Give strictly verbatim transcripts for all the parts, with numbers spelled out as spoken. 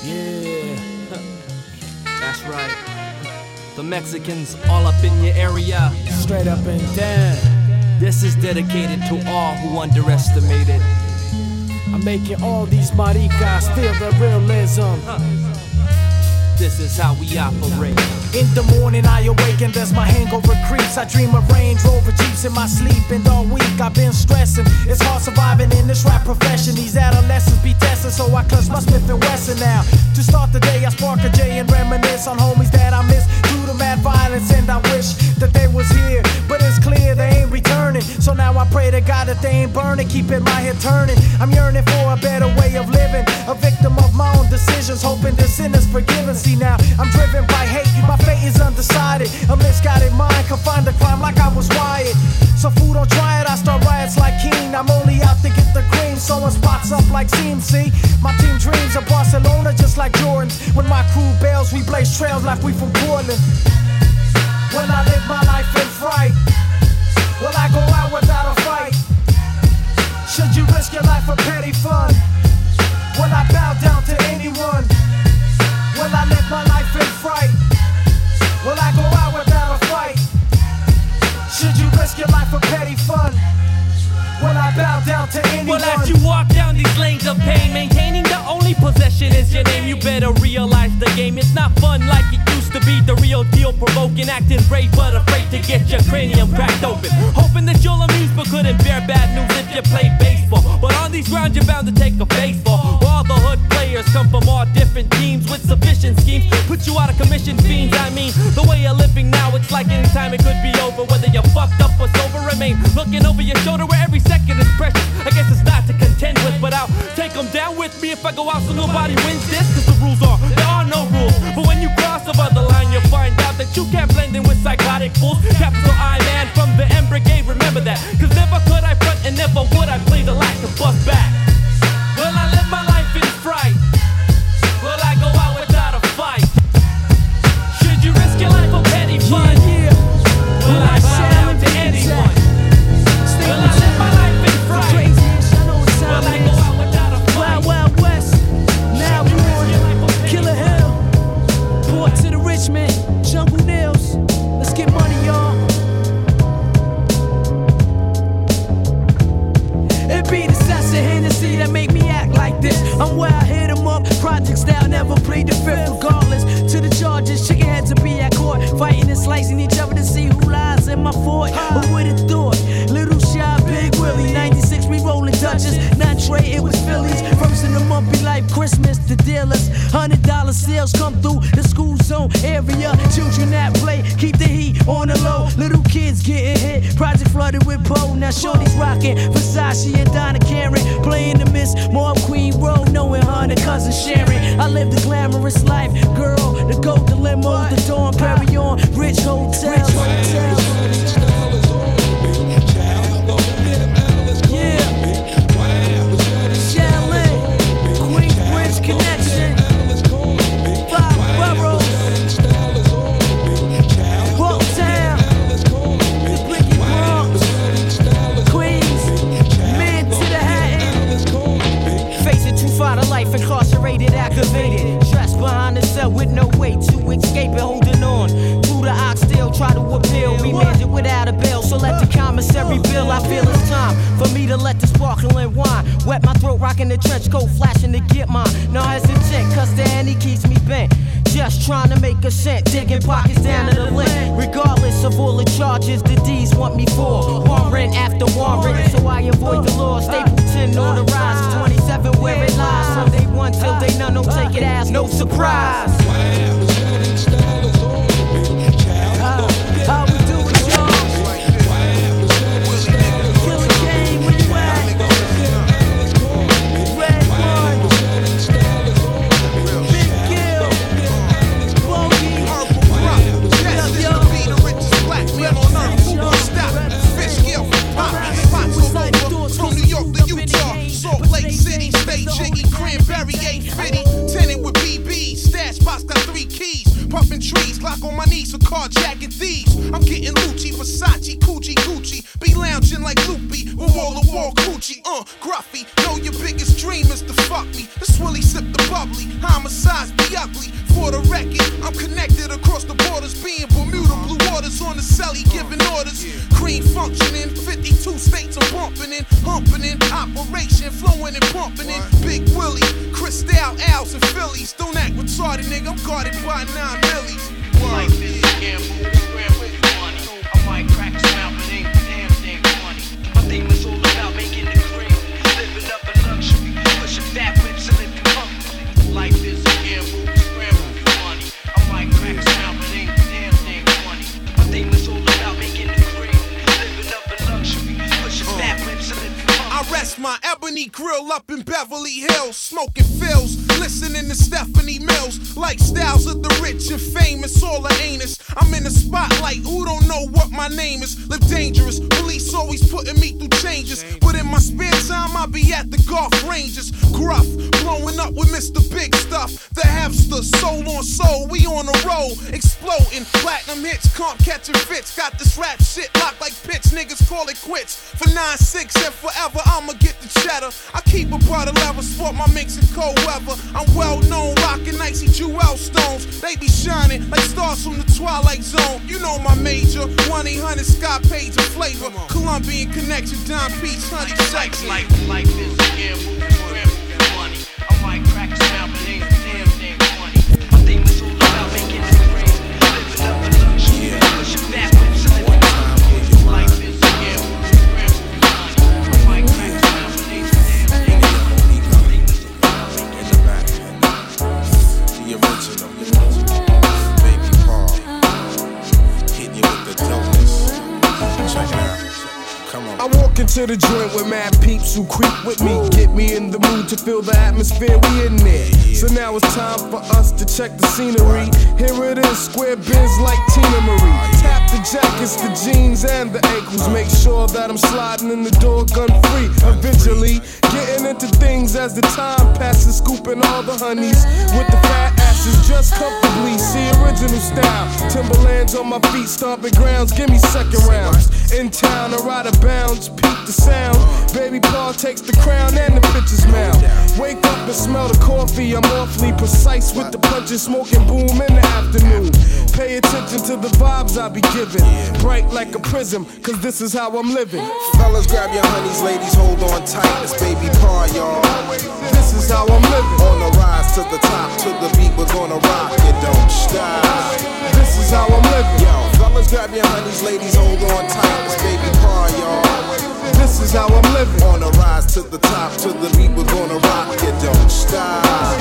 Yeah, that's right. The Mexicans all up in your area. Straight up and down. This is dedicated to all who underestimated. I'm making all these maricas feel the realism. This is how we operate. In the morning I awaken, there's my hangover creeps. I dream of Range Rover Jeeps in my sleep. And all week I've been stressing. It's hard surviving in this rap profession. These adolescents be testing, so I clutch my Smith and Wesson now. To start the day I spark a J and reminisce on homies that I miss due to mad violence. And I wish that they was here, but it's clear they ain't returning. So now I pray to God that they ain't burning, keeping my head turning. I'm yearning for a better way of living, a victim of my own decisions, hoping the sin is forgiven. See now, I'm driven by hate, my fate is undecided. A misguided mind confined to crime like I was wired. So fool, don't try it, I start riots like King. I'm only out to get the cream, sewing spots up like C M C. My team dreams of Barcelona just like Jordan's. When my crew bails, we blaze trails like we from Portland. When I live my life in fright, will I go out without a fight? Should you risk your life for petty fun? Will I bow down to anyone? Will I live my life in fright? Will I go out without a fight? Should you risk your life for petty fun? Will I bow down to anyone? Well, as you walk down these lanes of pain, maintaining the only possession is your name. You better realize the game is not fun like it used to be. The real deal, provoking, acting brave but afraid to get your cranium cracked open. Hoping that you'll amuse but couldn't bear bad news if you played baseball. But on these grounds you're bound to take a face fall. All the hood players come from all different teams with sufficient schemes. Put you out of commission, fiends. I mean, the way you're living now, it's like any time it could be over. Whether you're fucked up or sober, remain looking over your shoulder where every second is precious. I guess it's not to contend with, but I'll take them down with me if I go out so nobody wins this. Cause the rules are, there are no rules. But when you cross over the line, you'll find out that you can't blend in with psychotic fools. Capital I man from the M Brigade, remember that. Cause never could I front and never would I play the lack to bust back. Will I live my life in fright? Will I go out without a fight? Should you risk your life for petty fun? Yeah, yeah. Will I bow down to anyone? Will I live my life in fright? Will I go out without a fight? Wild, Wild West, now we on Killer Hill, Port to the Richmond, Jungle Nails. Let's get money, y'all. It be the Sassa Hennessy that make me act like this. I'm where I hit 'em up, project style, never plead the fifth. Regardless to the charges, chicken heads will be at court, fighting and slicing each other to see who lies in my fort. But with a thought, little shy, big Willie, ninety-six we rolling Dutchess, not Trey, it was Phillies. First in the month be like Christmas, the dealers, hundred dollar sales come through the school zone area. Children that play, keep the heat on the low. Little kids getting hit, project flooded with Poe. Now shorty's rocking Versace and Donna Karen, playing the Miss Mob Queen Road, knowing her and cousin Sharon. I live the glamorous life, girl, the gold, the limo, the Dawn Perignon, rich hotels. Rich hotels. Connection, five boroughs, Walktown, the Bricky Bronx, Queens, men to the Hatton. Facing too far to life, incarcerated, activated. Stressed behind the cell with no way to escape it, holding on to the oxtail, try to appeal. We manage it without a bail, so let the commissary bill. I feel it's time for me to let the sparkling wine wet my throat, rocking the trench coat, flashing to get mine. No hesitant, cause the Henny keeps me bent. Just trying to make a cent, digging pockets down to the lint. Regardless of all the charges the D's want me for, warrant after warrant, so I avoid the law. Stapleton on the rise, twenty-seven where it lies. From day one till day none, don't take it as no surprise. How, how we do it, y'all? Killer game, where you at? Red one, Big Gill, Bogey, Yes, this will be the richest black man on earth. Who won't stop? Fish gill, pop, spots all over. From New York to Utah, Salt Lake City, State Jiggy, Cranberry, eight fifty. Tenant with B B, stash box got three keys. Puffin' trees, clock on my knees for carjacking thieves. I'm getting Lucci, Versace, Coochie, Gucci. Be lounging like Loopy. with wall-to-wall coochie, uh, gruffy. Know your biggest dream is to fuck me. This Willie sip the bubbly, homicides be ugly. For the record, I'm connected across the borders, being Bermuda blue waters on the celly, giving orders. Cream functioning, fifty-two states I'm bumping in, humping in, operation, flowing and pumping in. Big Willie, Cristal, Al's and Phillies. Don't act retarded, nigga, I'm guarded by nine millies. Life is a gamble, scramble for money. I might crack a smile, but ain't the damn thing funny. My theme is all about making the cream, living up in luxury, pushing fat whips and living comfortably. Life is a gamble, scramble for money. I might crack a smile, but ain't the damn thing funny. My theme is all about making the cream, living up in luxury, pushing fat whips and living comfortably. I rest my ebony grill up in Beverly Hills, smoking fills, listening to Stephanie Mills. Lifestyles of the rich and famous, all an anus. I'm in the spotlight, who don't know what my name is? Live dangerous, police always putting me through changes. But in my spare time, I be at the golf ranges. Gruff, blowing up with Mister Big Stuff. The Hefster, soul on soul, we on a roll. Exploding, platinum hits, comp catching fits. Got this rap shit locked like pitch, niggas call it quits. For nine six and forever, I'ma get the cheddar. I keep a butter level, sport my mix in cold weather. I'm well known, rocking icy jewel stones. They be shining like stars from the Twilight Zone. You know my major, one eight hundred Scott Page and Flavor. Colombian Connection, Don Peach, Honey Section. Life, life is a gamble, scramble for money. I might crack a smile, but ain't the damn thing funny. My theme is all about making the cream, living up in luxury, pushing fat whips and living comfortably. Life is a gamble, scramble for money. I might crack a smile, but ain't the damn thing funny. My theme is all about making the cream. The original, Baby Paul, hitting you with the dopeness. Check it out. Come on. I walk into the joint with mad peeps who creep with me, get me in the mood to feel the atmosphere we in there. So now it's time for us to check the scenery. Here it is, square biz like Tina Marie. Tap the jackets, the jeans, and the ankles. Make sure that I'm sliding in the door gun free. Eventually, getting into things as the time passes, scooping all the honeys with the fat asses just comfortably. See original style, Timberlands on my feet, stomping grounds. Give me second rounds. In town, or out of bounds, peep the sound. Baby Paul takes the crown and the pitcher's mound. Wake up and smell the coffee. I'm awfully precise with the punches, smoking boom in the afternoon. Pay attention to the vibes I be giving. Bright like a prism, cause this is how I'm living. Fellas, grab your honeys, ladies, hold on tight. It's Baby Paul, y'all. This is how I'm living. On the rise to the top, to the beat, we're gonna rock it, don't stop. This is how I'm living. Yo, fellas, grab your honeys, ladies, hold on tight. It's Baby Paul, y'all. This is how I'm living. On the rise to the top, to the beat, we're gonna rock it, don't stop.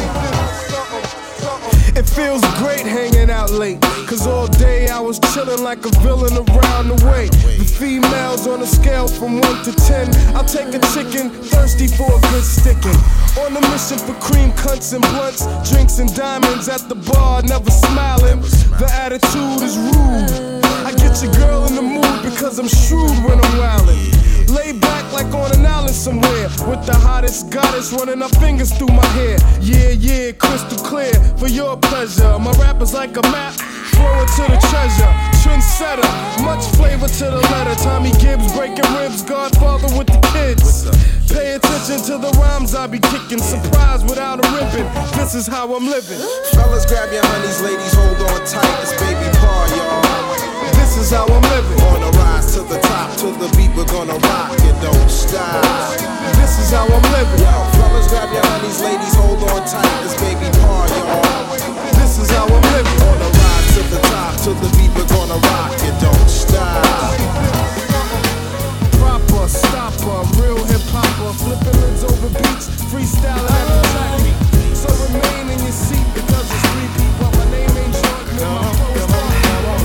It feels great hanging out late, cause all day I was chillin' like a villain around the way. The females on a scale from one to ten, I'll take a chicken, thirsty for a good stickin'. On a mission for cream cunts and blunts, drinks and diamonds at the bar, never smiling. The attitude is rude. I get your girl in the mood because I'm shrewd when I'm wildin'. Lay back like on an island somewhere, with the hottest goddess running her fingers through my hair. Yeah, yeah, crystal clear for your pleasure. My rap is like a map, flowing to the treasure. Trendsetter, much flavor to the letter. Tommy Gibbs breaking ribs, Godfather with the kids. Pay attention to the rhymes I be kicking. Surprise without a ribbon. This is how I'm living. Fellas, grab your honeys, ladies, hold on tight. It's Baby Paul, y'all. This is how I'm living. On the rise to the top, to the beat, we're gonna rock it, don't stop. This is how I'm living. Yo, fellas, grab your honeys, ladies, hold on tight. It's Baby Paul, y'all. This is how I'm living. On the rise to the top, to the beat, we're gonna rock it, don't stop. Proper, stopper, real hip hopper, flipping lids over beats, freestyling at the track meet. So remain in your seat because it's three people. My name ain't Jordan, and my flow is hard.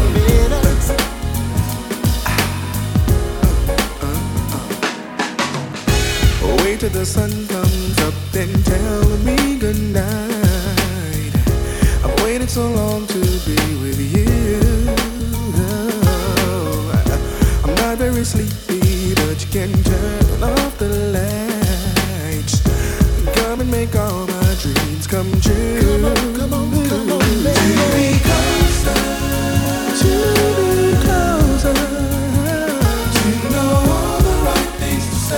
Wait till the sun comes up, then tell me goodnight. I've waited so long to be with you. I'm not very sleepy, but you can turn off the lights. Come and make all my dreams come true. Come on, come on, come on, baby. To be closer, to be closer, to know all the right things to say.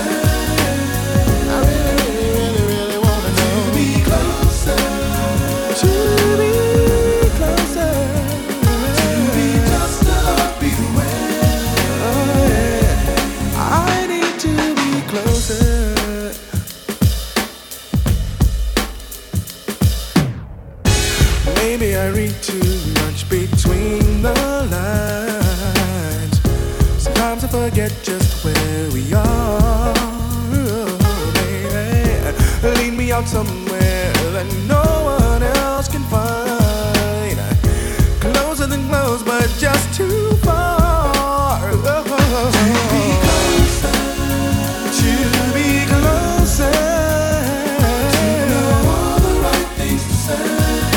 read too much between the lines. Sometimes I forget just where we are. Oh, baby, lead me out somewhere that no one else can find. Closer than close, but just too far. Oh, to be closer, to be closer, to know all the right things to say.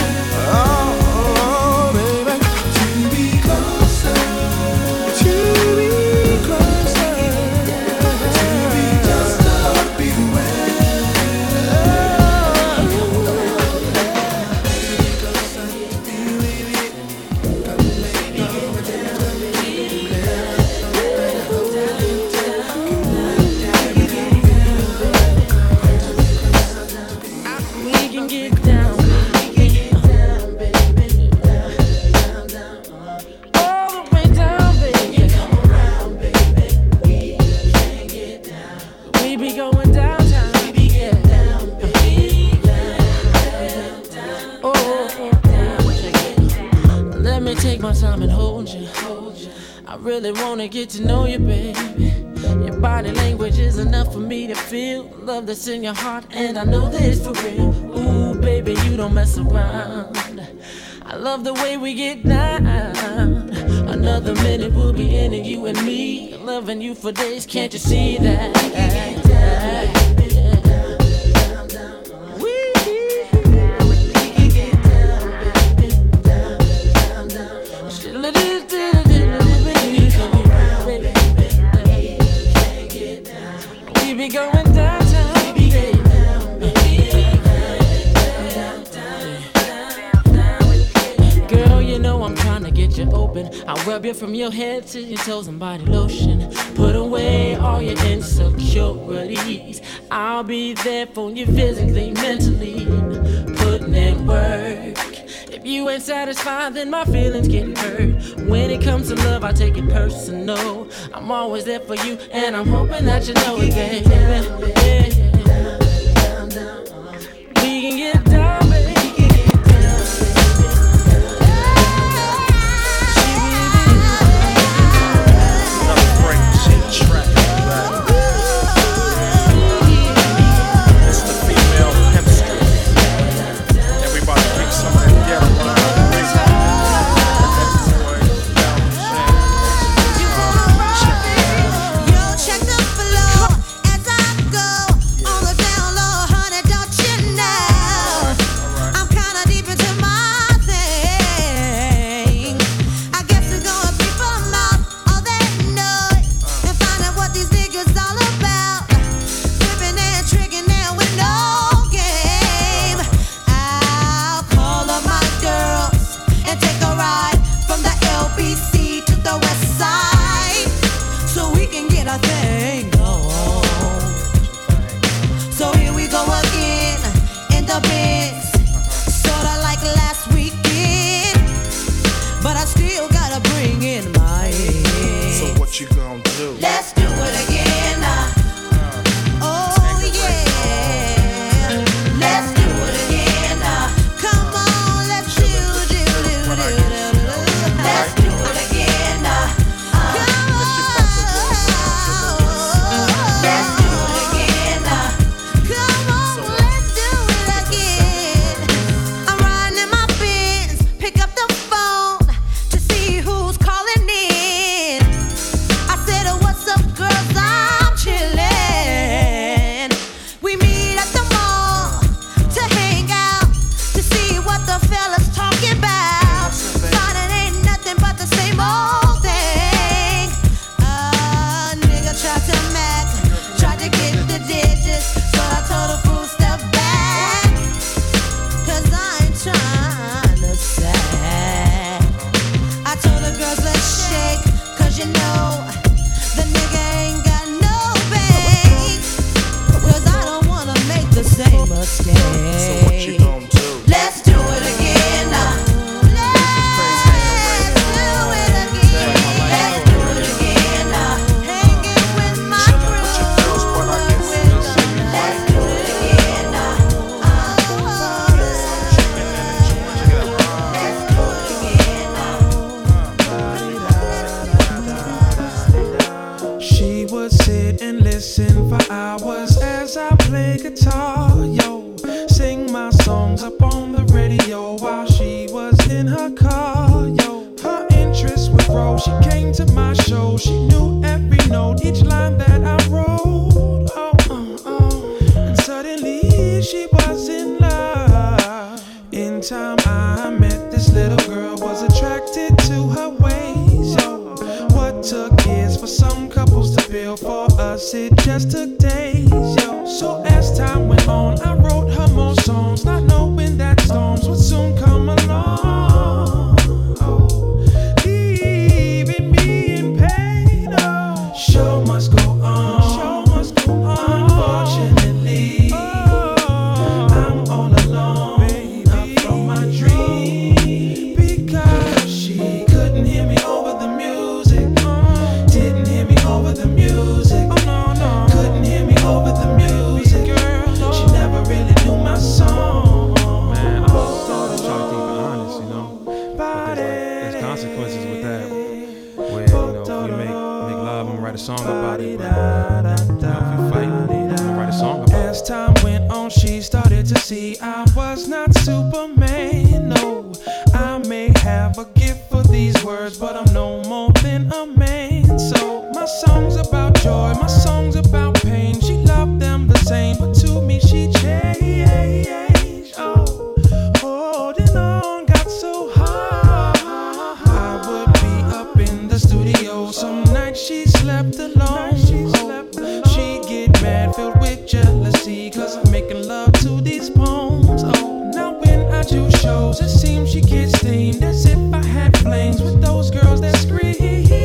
Oh, baby, to be closer, to be closer, to be just a heartbeat away. Really wanna get to know you, baby. Your body language is enough for me to feel love that's in your heart, and I know that it's for real. Ooh, baby, you don't mess around. I love the way we get down. Another minute we'll be in it, you and me, loving you for days. Can't you see that? We going downtown, baby. Girl, you know I'm trying to get you open. I'll rub you from your head to your toes and body lotion. Put away all your insecurities. I'll be there for you physically, mentally, putting in work. If you ain't satisfied, then my feelings get hurt. When it comes to love, I take it personal. I'm always there for you, and I'm hoping that you know it, baby. Yeah, yeah. We can get down, baby. play guitar, yo. Sing my songs up on the radio while she was in her car, yo. Her interest would grow. She came to my show. She knew every note, each line that I wrote. Oh, oh, oh. And suddenly she was in love. In time I met this little girl, was attracted to her ways, yo. What took years for some couples to build, for us it just took days, yo. So as time went on, I wrote her more songs, not knowing that storms would soon come along, oh, leaving me in pain, oh. Show must go on, show must go on. Unfortunately, oh, I'm all alone, baby, up from my dream, because she couldn't hear me over the music, uh, didn't hear me over the music, oh no, no, couldn't hear me over the music, girl, no. She never really knew my song. Man, I thought I try to keep it honest, you know, but there's, like, there's consequences with that, where, you know, if you make, make love and write a song about it, but, you know, if you fight, you know, write a song about it. As time went on, she started to see I was not Superman, no. I may have a gift for these words, but I'm no more than a man. So my songs about joy, my songs about pain, she loved them the same, but to me she changed. Oh, holding on got so hard. I would be up in the studio, some nights she slept alone. She'd get mad, filled with jealousy, cause I'm making love to these poems. Oh, now when I do shows, it seems she gets steamed, as if I had flames with those girls that scream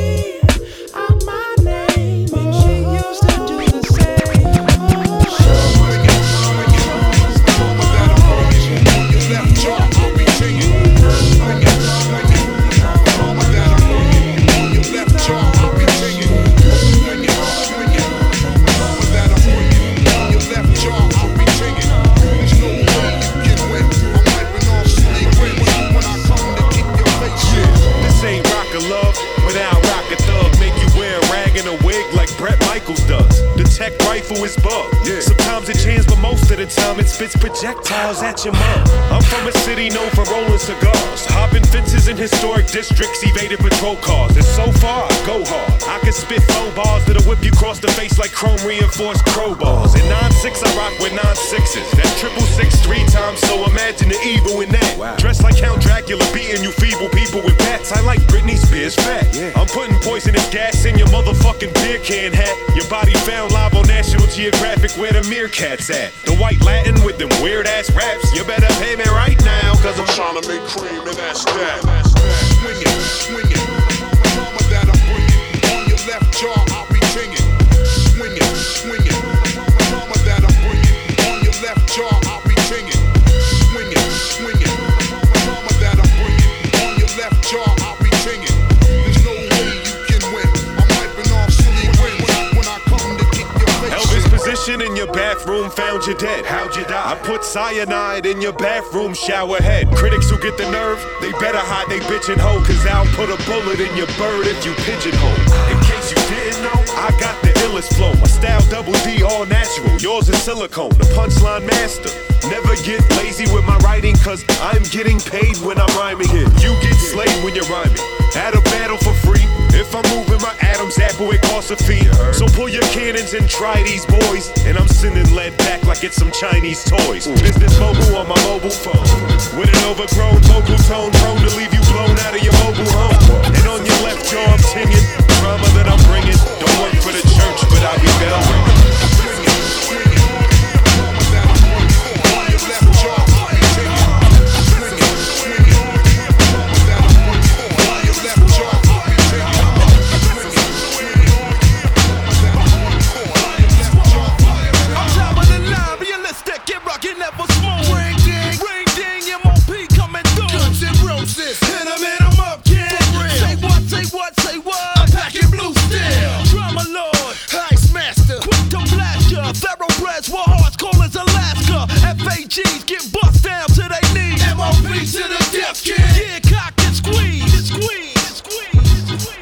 out my name, and she used to do the same. Oh, Swing it, swing it. Without a motion on your left jaw, I'll be singing. Swing it, swing it. Without a motion on your left jaw, I'll be singing. Swing it, swing it. Without a motion on your left jaw, I'll be singing. There's no way you can win. I'm wiping off sleep when, when I come to kick your face in. This ain't rock a love without rock a thug. Make you wear a rag and a wig like Bret Michaels does. The tech rifle is bugged. Yeah. Sometimes it jams, but most of the time it spits projectiles at your mug. I'm from a city known for rolling cigars, hopping fences in historic districts, evading patrol cars. And so far, I go hard. I can spit flow bars that'll whip you across the face like chrome reinforced crowbars. In nine six, I rock with nine sixes. That triple six three times, so imagine the evil in that. Wow. Dressed like Count Dracula, beating you feeble people with bats. I like Britney Spears fat. Yeah. I'm putting poisonous gas in your motherfucking beer can hat. Your body found live on National Geographic, where the meerkats at. The white Latin with them weird ass raps. You better pay me right now, cause I'm trying to make cream and that's that. Swing it, swing it. Mama that I'm bringing. On your left jaw, I'll be singing. Swing it, swing it. Mama that I'm bringing. On your left jaw, I'll be singing. Swing it, swing it. Mama that I'm bringing. On your left jaw, I'll be singing. There's no way you can win. I'm wiping off sleep when, when I come to kick your face. Elvis position in your bathroom, found you dead. How'd you die? I put cyanide in your bathroom shower head. Critics who get the nerve, they better hide they bitchin' hoe, cause I'll put a bullet in your bird if you pigeonhole. In case you didn't know, I got the illest flow. My style double D, all natural. Yours is silicone, the punchline master. Never get lazy with my writing, cause I'm getting paid when I'm rhyming. You get slayed when you're rhyming. At a battle for free. If I'm moving my Adam's apple, it costs a fee. So pull your cannons and try these boys. And I'm sending lead back like it's some Chinese toys. Business mobile on my mobile phone, with an overgrown vocal tone, prone to leave you blown out of your mobile home. And on your left jaw I'm singing drama that I'm bringing. Don't work for the church, but I'll be bell ringing. Swing it, swing it. Mama that I'm bringing. On your left jaw, I'll be singing. Swing it, swing it. Mama that I'm bringing. On your left jaw, I'll be singing. Swing it, swing it. Mama that I'm bringing. On your left jaw, I'll be singing. I'm top of the line, realistic, get rockin', never smooth. Ring ding, ring ding, M O P coming through. Guns and roses, hit 'em, hit 'em up, kid. Say what, say what, say what. I'm packing blue steel. Drama lord, ice master, quick to blast ya. Thoroughbreds, war hearts, cold as Alaska. F A Gs get bust down to they knees. M O P to the death, kid. Yeah, cock and squeeze, squeeze, squeeze, squeeze.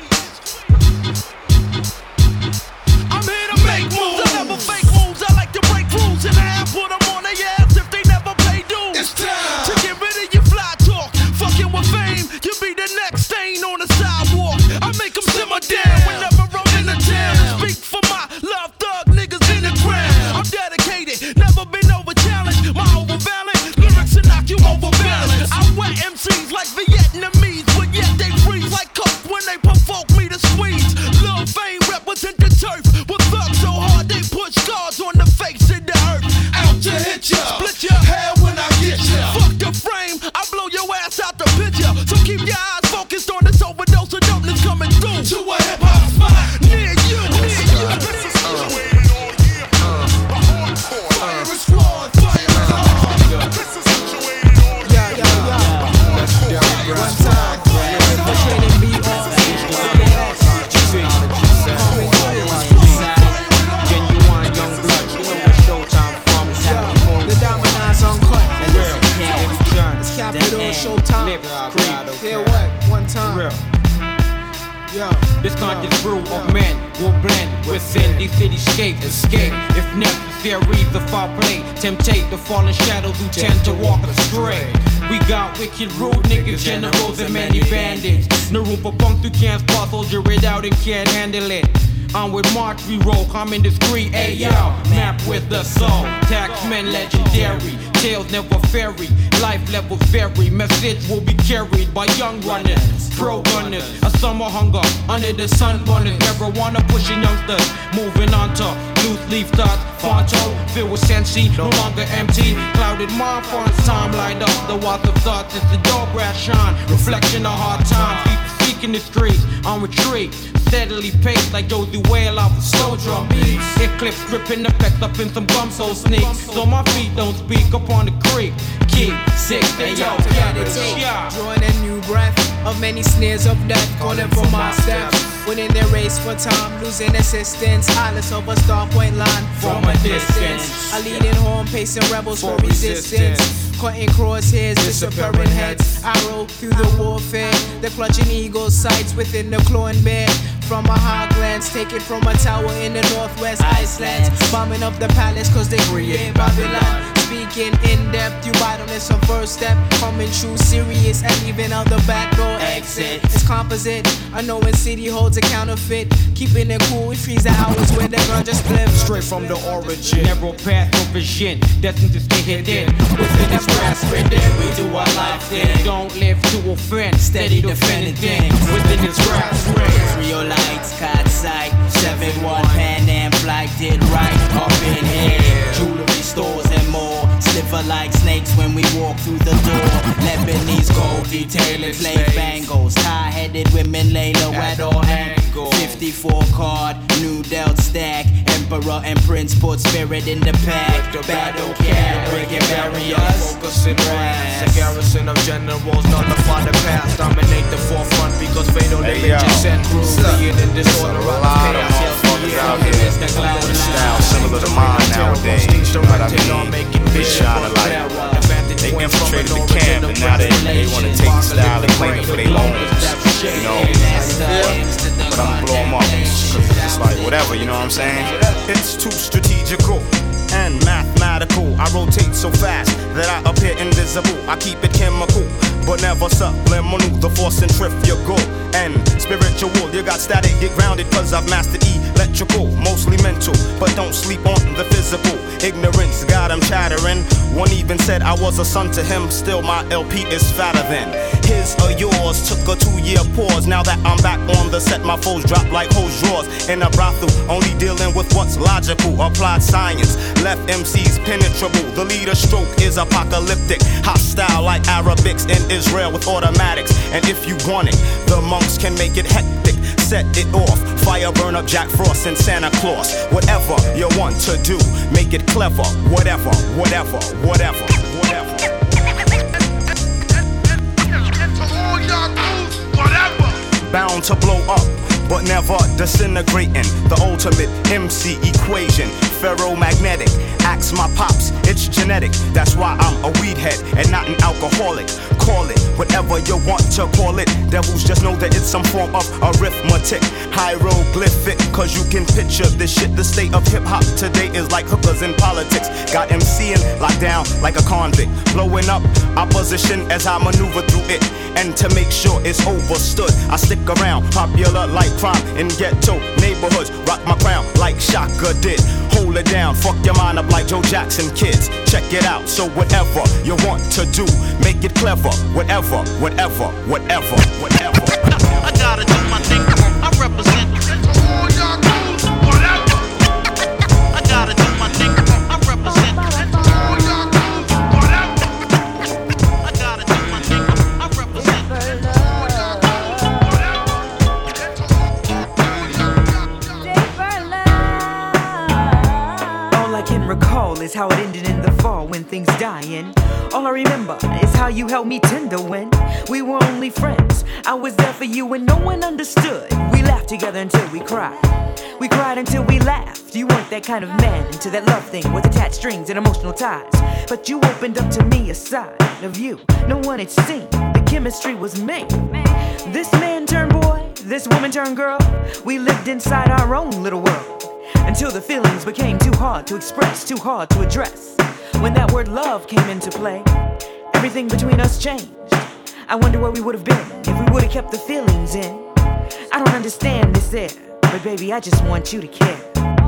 I'm here to make moves. I never fake moves. I like to break rules in the This conscious brew of men will blend within these cityscapes. Escape, if necessary, the foul play. Temptate the fallen shadows who tend to walk astray. We got wicked rude niggas, generals, and many bandits. No room for punk who can't spot, soldier it out and can't handle it. I'm with March, we roll, common discreet, ayo. Map with the soul, taxmen legendary. Tales never ferry, life levels vary. Message will be carried by young runners, pro gunners. A summer hunger under the sun runners. Marijuana pushing youngsters, moving on to loose leaf thoughts. Fonto, filled with sensi, no longer empty. Clouded mind, fonts, time light up. The water of thoughts is the door brass shine. Reflection of hard times, people seeking the streets on retreat. Steadily paced like Josie Whale off of slow drum beats. Eclipse gripping effect up in some gum so sneak. So my feet don't speak upon the creek. Keep sick, they yo, get it, yeah. Drawing a new breath of many snares of death, calling for my steps. Winning their race for time, losing assistance. Eyeless over star point line from a distance. A leading horn, pacing rebels for resistance. Cutting crosshairs, disappearing heads. Arrow through the warfare. The clutching eagle sights within the clawing bear. From a high glance, taken from a tower in the northwest Iceland. Bombing up the palace cause they create Babylon. Speaking in depth, you bite on this on first step. Coming true serious and even out the back door exit. It's composite, a knowing city holds a counterfeit. Keeping it cool, we freeze the hours where the gun just flip. Straight from the origin, narrow path of vision, destined to stay hidden. Within this grass within, we do our life thing. Don't live to offend, steady defending things. Within this grass race, real lights, caught sight. seven one Pan Am flight did right up in here. Jewelry stores and more. Sliver like snakes when we walk through the door. Lebanese gold detailing play bangles. High-headed women lay low at all angles. fifty-four card, new dealt stack. Emperor and prince put spirit in the pack. Battle cat, breaking barriers. Focusing brass. A garrison of generals nullify the past. Dominate the forefront because fatal images and cruelty and in disorder. A lot of motherfuckers out here with a style similar to mine nowadays. You know what I mean? They shine a light. They infiltrated the camp and now they, they want to take the style and claim it for their own. You know? But I'm gonna blow them up. Cause it's like whatever, you know what I'm saying? It's too strategical and mathematical. I rotate so fast that I appear invisible. I keep it chemical, but never subliminal. The force centrifugal and spiritual. You got static, get grounded, cause I've mastered electrical. Mostly mental, but don't sleep on the physical. Ignorance got him chattering. One even said I was a son to him. Still my L P is fatter than his or yours. Took a two-year pause. Now that I'm back on the set, my foes drop like hose drawers. In a brothel, only dealing with what's logical. Applied science left M Cs penetrable. The leader stroke is apocalyptic. Hostile like Arabics in Israel with automatics. And if you want it, the monks can make it hectic. Set it off. Fire burn up Jack Frost and Santa Claus. Whatever you want to do, make it clever. Whatever, whatever, whatever, whatever. Bound to blow up, but never disintegrating. The ultimate M C equation. Ferromagnetic, ask my pops, it's genetic. That's why I'm a weed head and not an alcoholic. Call it whatever you want to call it. Devils just know that it's some form of arithmetic. Hieroglyphic, cause you can picture this shit. The state of hip hop today is like hookers in politics. Got MCing locked down like a convict. Blowing up opposition as I maneuver through it. And to make sure it's overstood, I stick around, popular like crime in ghetto neighborhoods. Rock my crown like Shaka did. Hold it down, fuck your mind up like Joe Jackson kids. Check it out, so whatever you want to do, make it clever. Whatever, whatever, whatever, whatever. I gotta do my thing, I represent all y'all dudes, whatever. I gotta do my thing, I represent all y'all dudes, whatever. I gotta do my thing, I represent all y'all dudes, whatever. All I can recall is how it ended in the fall when things dying. All I remember is how you held me tender when we were only friends. I was there for you and no one understood. We laughed together until we cried. We cried until we laughed. You weren't that kind of man into that love thing with attached strings and emotional ties. But you opened up to me a side of you no one had seen. The chemistry was made. This man turned boy, this woman turned girl, we lived inside our own little world. Until the feelings became too hard to express, too hard to address. When that word love came into play, everything between us changed. I wonder where we would have been if we would have kept the feelings in. I don't understand this air, but baby, I just want you to care.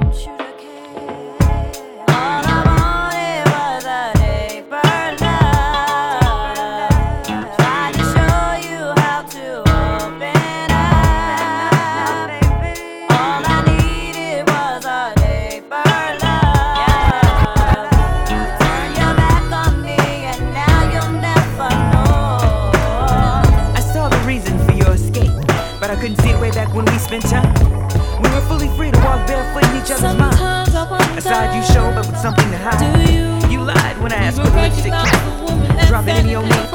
I couldn't see it way back when we spent time. We were fully free to walk barefoot in each other's minds. A side you showed, but with something to hide. You, you lied when I asked for the lipstick cap. Drop it in your name.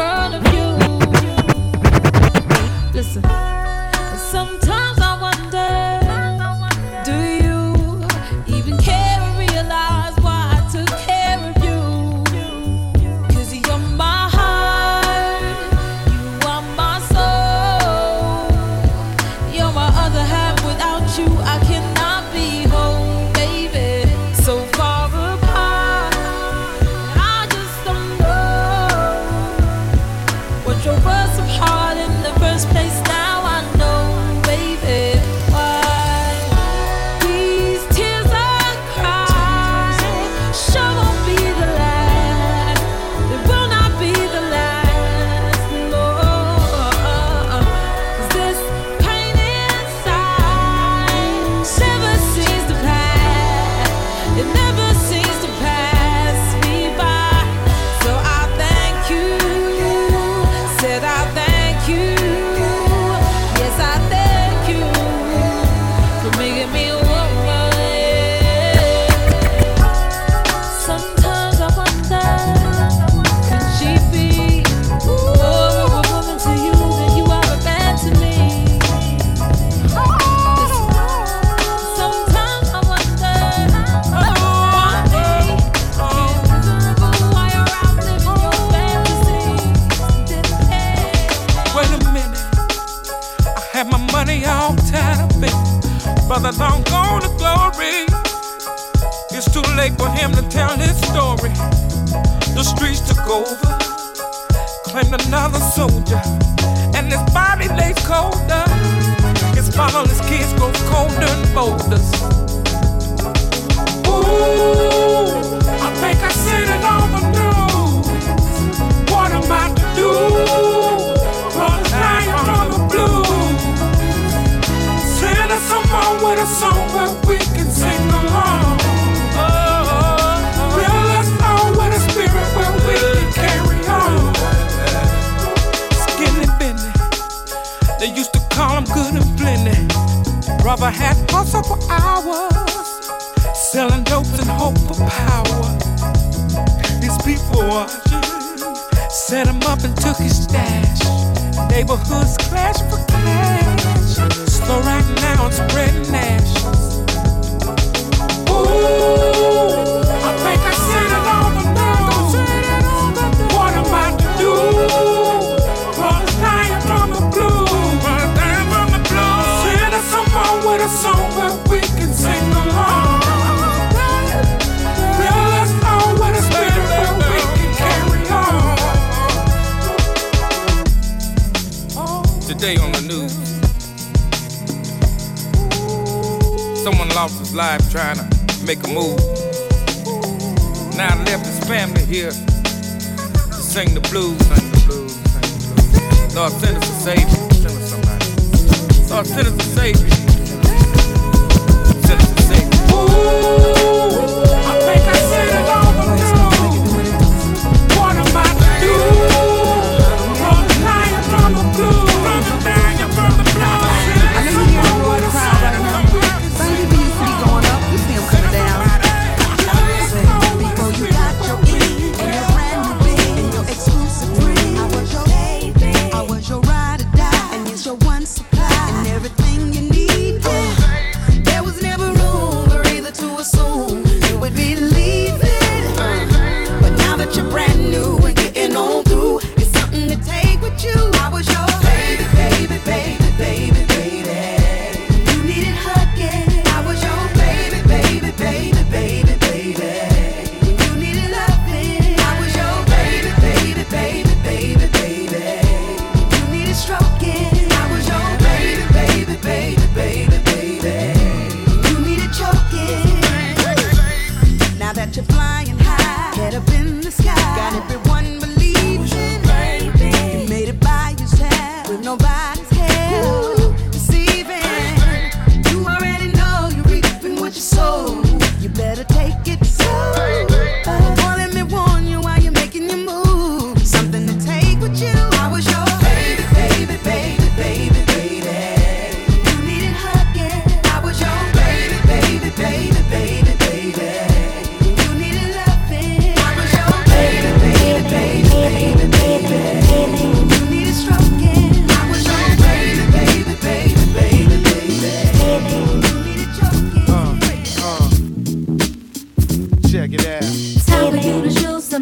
Listen, sometimes I wonder, do you even care or realize why I took care of you? Cause you're my heart, you are my soul. You're my other half, without you I cannot be whole, baby. So far apart, I just don't know what drove us apart in the first place. Now I know, baby, why these tears I cry sure won't be the last. It will not be the last, no. Cause this pain inside never seems to pass. It never seems to pass me by. So I thank you, said I thank you. Yes, I thank you for making me a woman. Sometimes I wonder, could she be more of a woman to you than you are a man to me? Sometimes I wonder, why it's miserable, why you're out living your fantasies. Wait a minute, I had my money all tied up in brother long gone to glory. It's too late for him to tell his story. The streets took over, claimed another soldier, and his body lays colder. His fatherless kids grow colder and boulders. Ooh, I think I seen it on the news. What am I to do? Brothers dying from the blues. Send us someone with a song where we can sing along. Fill us all with a spirit where we can carry on. Skinny Benny, they used to call him good and plenty. Brother had hustle for hours, selling dopes in hope for power. These people watching set him up and took his stash. Neighborhoods clash for cash. Slow right now and spreading ashes. Ooh, I think I seen it on the news. What am I to do? Brothers dying from the blues. Brothers dying from the blues. Send us someone with a song where we can sing along. Fill us all with a spirit where we can carry on. Today on the news, someone lost his life trying to make a move. Now left his family here to sing the blues, sing the blues, sing the blues. Lord, send us a savior, send us somebody. Lord, send us a savior, send us a savior. Ooh, I think I said it all the news. What am I to do? Brothers dying from the blues, brothers dying from the blues. I know you hear the roar of the crowd right now. Some people used to be going up, you see them coming down. Before you got your E and your brand new B and your exclusive free, I was your baby, I was your ride or die, and it's your one supply and everything you need. Yeah. There was never room for either to assume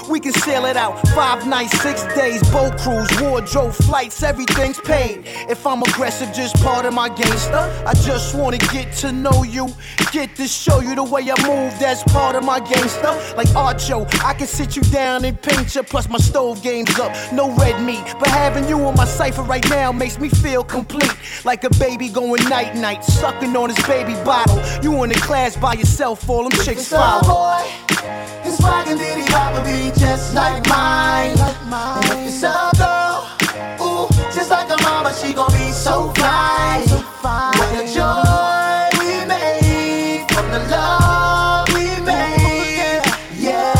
we can sail it out. Five nights, six days, boat cruise, wardrobe, flights, everything's paid. If I'm aggressive, just part of my gangster. I just wanna get to know you, get to show you the way I move, that's part of my gangster. Like Archo, I can sit you down and paint you, plus my stove game's up, no red meat. But having you on my cipher right now makes me feel complete. Like a baby going night-night, sucking on his baby bottle. You in the class by yourself, all them chicks follow. His wagon diddy bop be just like mine. And if it's a girl, ooh, just like a mama, she gon' be so fine. With the joy we made, from the love we made, yeah,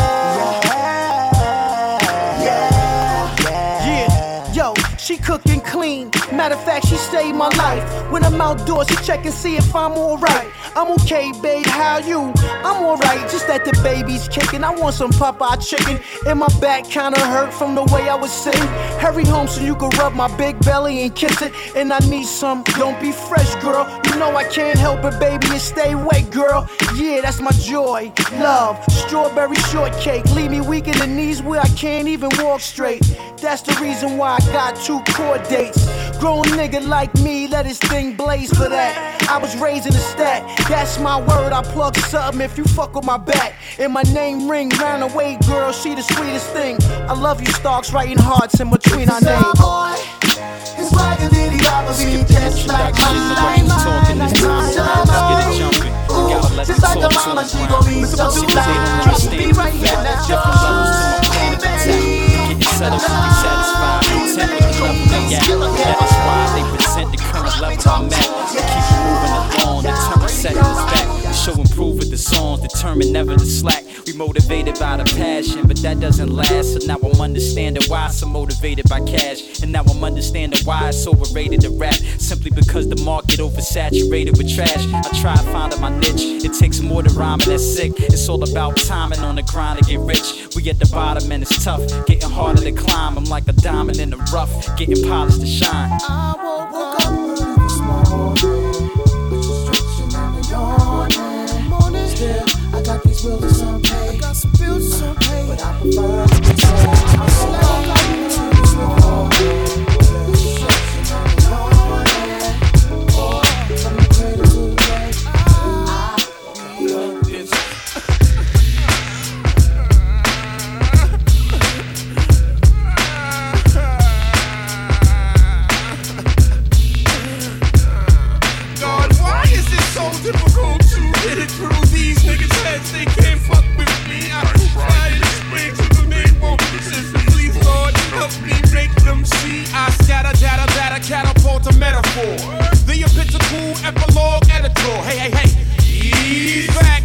yeah, yeah. Yo, she cooking clean. Matter of fact, she saved my life. When I'm outdoors, she check and see if I'm alright. I'm okay, babe, how you? I'm alright, just that the baby's kicking. I want some Popeye chicken. And my back kinda hurt from the way I was sitting. Hurry home so you can rub my big belly and kiss it. And I need some, don't be fresh, girl. You know I can't help it, baby, and stay wet, girl. Yeah, that's my joy, love, strawberry shortcake. Leave me weak in the knees where I can't even walk straight. That's the reason why I got two court dates. Grown nigga like me, let his thing blaze for that. I was raised in a stat, that's my word, I plug something if you fuck with my back. And my name ring round the way, girl, she the sweetest thing. I love you, Starks, writing hearts in between our names. His wagon diddy bop be just like mine. Let's get it jumping. Gotta let the Just like a talk mama, to she the gon' be ground. so See, fine. they understand Be right here that now. different levels to my plan to tell. Getting settled to be satisfied. Content with the level they at. That's why they present the current level I'm at. We keep moving along, determined setting us back. We show improve with the songs, determined never to slack. We motivated by the passion, but that doesn't last. So now I'm understanding why I'm so motivated by cash. And now I'm understanding why it's overrated to rap. Simply because the market oversaturated with trash. I try finding my niche. It takes more than rhyming, that's sick. It's all about timing on the grind to get rich. We at the bottom and it's tough, getting harder to climb. I'm like a diamond in the rough, getting polished to shine. I woke up this morning, but you're stretching and yawning. Morning, still, I got these bills to some pay. I got some bills to some pay, but I prefer to be sad. I woke up this morning, but you're stretching and yawning. Oh, from the cradle to the grave, I love this. God, why is it so difficult to get it through these niggas' heads? They can't fuck with me. I don't try to explain to them, they won't listen. Please, Lord, help me make them see. I scatter, data, data, catapult a metaphor. The epitomal epilogue editor. Hey, hey, hey, he's back.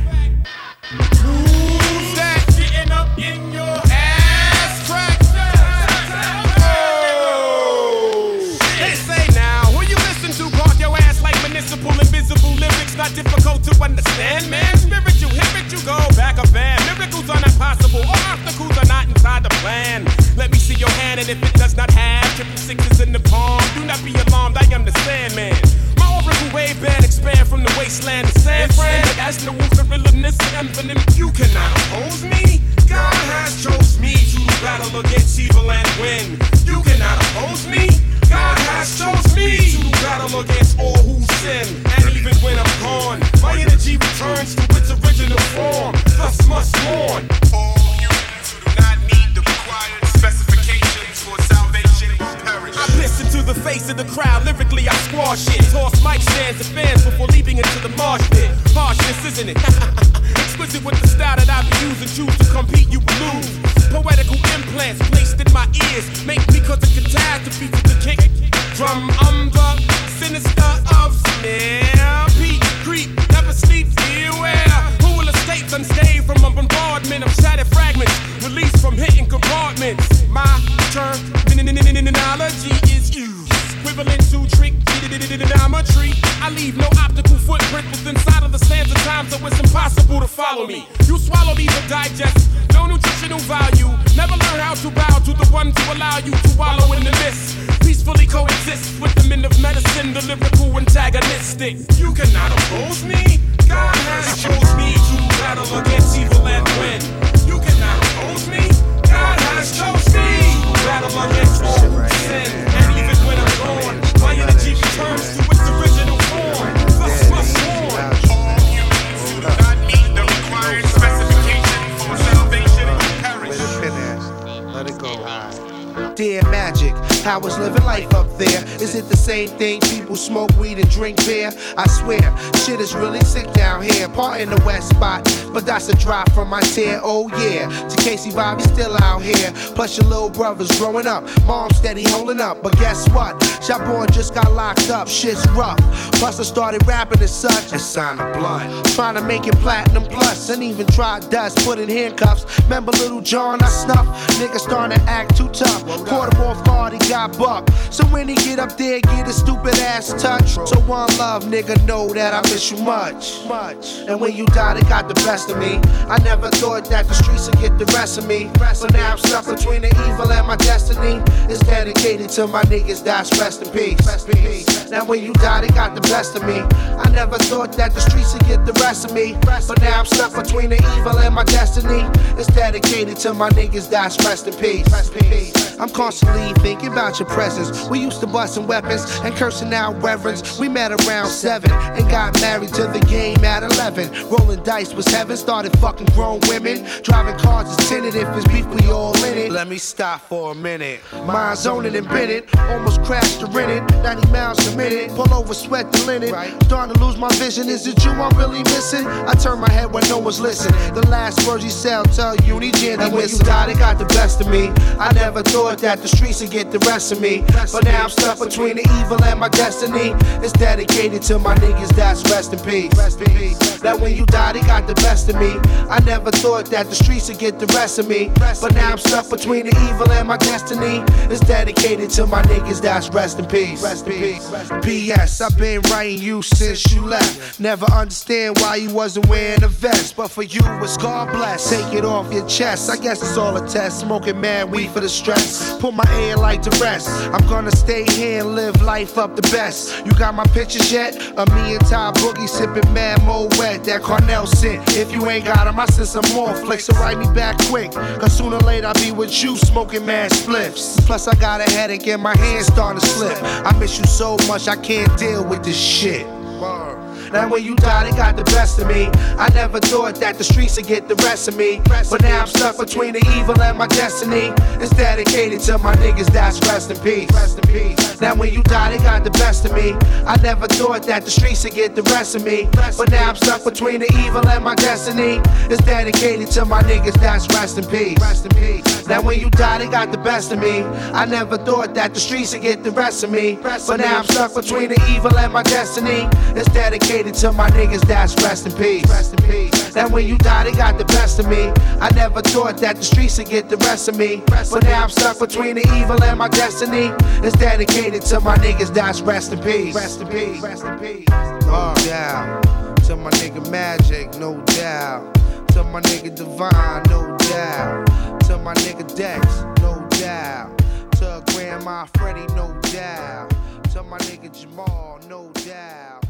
Who's that getting up in your ass crack? Oh, they say now, who you listen to? Park your ass like municipal invisible lyrics, not difficult to understand, man. Spiritual, you go back a van. Miracles are not possible, or obstacles are not inside the plan. Let me see your hand, and if it does not have triple sixes in the palm, do not be alarmed, I am the Sandman. My oracle wave band expand from the wasteland to San Fran. As the wolf gorillaness and infinite, you cannot oppose me. God has chose me to battle against evil and win. You cannot oppose me. God has chose me to battle against all who sin. And even when I'm gone, my energy returns to its original form. Thus must mourn all humans who do not meet the required specifications for salvation perish. I piss into the face of the crowd, lyrically I squash it. Toss mic stands to fans before leaping into the marsh pit. Harshness, isn't it? Exquisite with the style that I be using. Choose to compete, you will lose. Poetical implants placed in my ears make me cause a catastrophe to the kick. Drum, I'm the sinister of snare. Beat, creep, never sleep, beware. Who will escape unscathed from a bombardment of shattered fragments released from hitting compartments? My terminology is used, equivalent to trick geometry. I leave no optical footprint within inside of the sands of time, so it's impossible to follow me. You swallow these or digest, no nutritional value. Never learn how to bow to the ones who allow you to wallow in the mist. Peacefully coexist with the men of medicine, the lyrical antagonistic. You cannot oppose me. God has chose me to battle against evil and win. You cannot oppose me. Dear Magic, how is living life up there? Is it the same thing? People smoke weed and drink beer? I swear, shit is really sick down here. Part in the west spot, but that's a drop from my tear. Oh yeah, to Casey Bobby still out here. Plus your little brother's growing up, mom steady holding up. But guess what? Shot boy just got locked up. Shit's rough. Plus I started rapping as such. And signed the blood, trying to make it platinum plus, and even tried dust, put in handcuffs. Remember Little John I snuffed? Nigga starting to act too tough. Caught him off guard, he got bucked. So when he get up there, get his stupid ass touched. So one love, nigga, know that I miss you much. Much. And when you died, it got the best of me. I never thought that the streets would get the rest of me. But now I'm stuck between the evil and my destiny. It's dedicated to my niggas that's rest in peace. Rest in peace. Now when you died, it got the best of me. I never thought that the streets would get the rest of me. But now I'm stuck between the evil and my destiny. It's dedicated to my niggas that's rest in peace. Rest in peace. I'm constantly thinking about your presence. We used to busting weapons and cursing out reverends. We met around seven and got married to the game at eleven. Rolling dice was heaven, started fucking grown women. Driving cars is tinted, if it's beef we all in it. Let me stop for a minute. Mind zoning and bit it, almost crashed to rent it. ninety miles a minute, pull over, sweat the linen. Starting to lose my vision, is it you I'm really missing? I turn my head when no one's listening. The last words you say, I'll tell you, Uni Jan, and when you died, it got the best of me. I never thought that the streets would get the rest of me. But now I'm stuck between the evil and my destiny. It's dedicated to my niggas that's rest in peace. Rest in peace. That when you died, it got the best of me. I never thought that the streets would get the rest of me. But now I'm stuck between the evil and my destiny. It's dedicated to my niggas that's rest in peace. Rest in peace. P S I've been writing you since you left. Never understand why you wasn't wearing a vest. But for you, it's God bless. Take it off your chest. I guess it's all a test. Smoking mad weed for the stress. Put my air like to rest. I'm gonna stay here and live life up the best. You got my pictures yet? Of me and Ty Boogie sipping mad mo wet. That Cornell sent. If you ain't got 'em, I send some more flicks. So write me back quick. Cause sooner or later I'll be with you smoking mad spliffs. Plus I got a headache and my hands starting to slip. I miss you so much I can't deal with this shit. Now when you died, it got the best of me. I never thought that the streets would get the rest of me. But now I'm stuck between the evil and my destiny. It's dedicated to my niggas that's rest in peace. Rest in peace. Now when you died, it got the best of me. I never thought that the streets would get the rest of me. But now I'm stuck between the evil and my destiny. It's dedicated to my niggas that's rest in peace. Rest in peace. Now when you died, it got the best of me. I never thought that the streets would get the rest of me. But now I'm stuck between the evil and my destiny. It's dedicated to my niggas that's rest in peace. Rest in peace. That when you died, it got the best of me. I never thought that the streets would get the rest of me. But now I'm stuck between the evil and my destiny. It's dedicated to my niggas that's rest in peace. Rest in peace. Rest in peace. No doubt. To my nigga Magic, no doubt. To my nigga Divine, no doubt. To my nigga Dex, no doubt. To Grandma Freddie, no doubt. To my nigga Jamal, no doubt.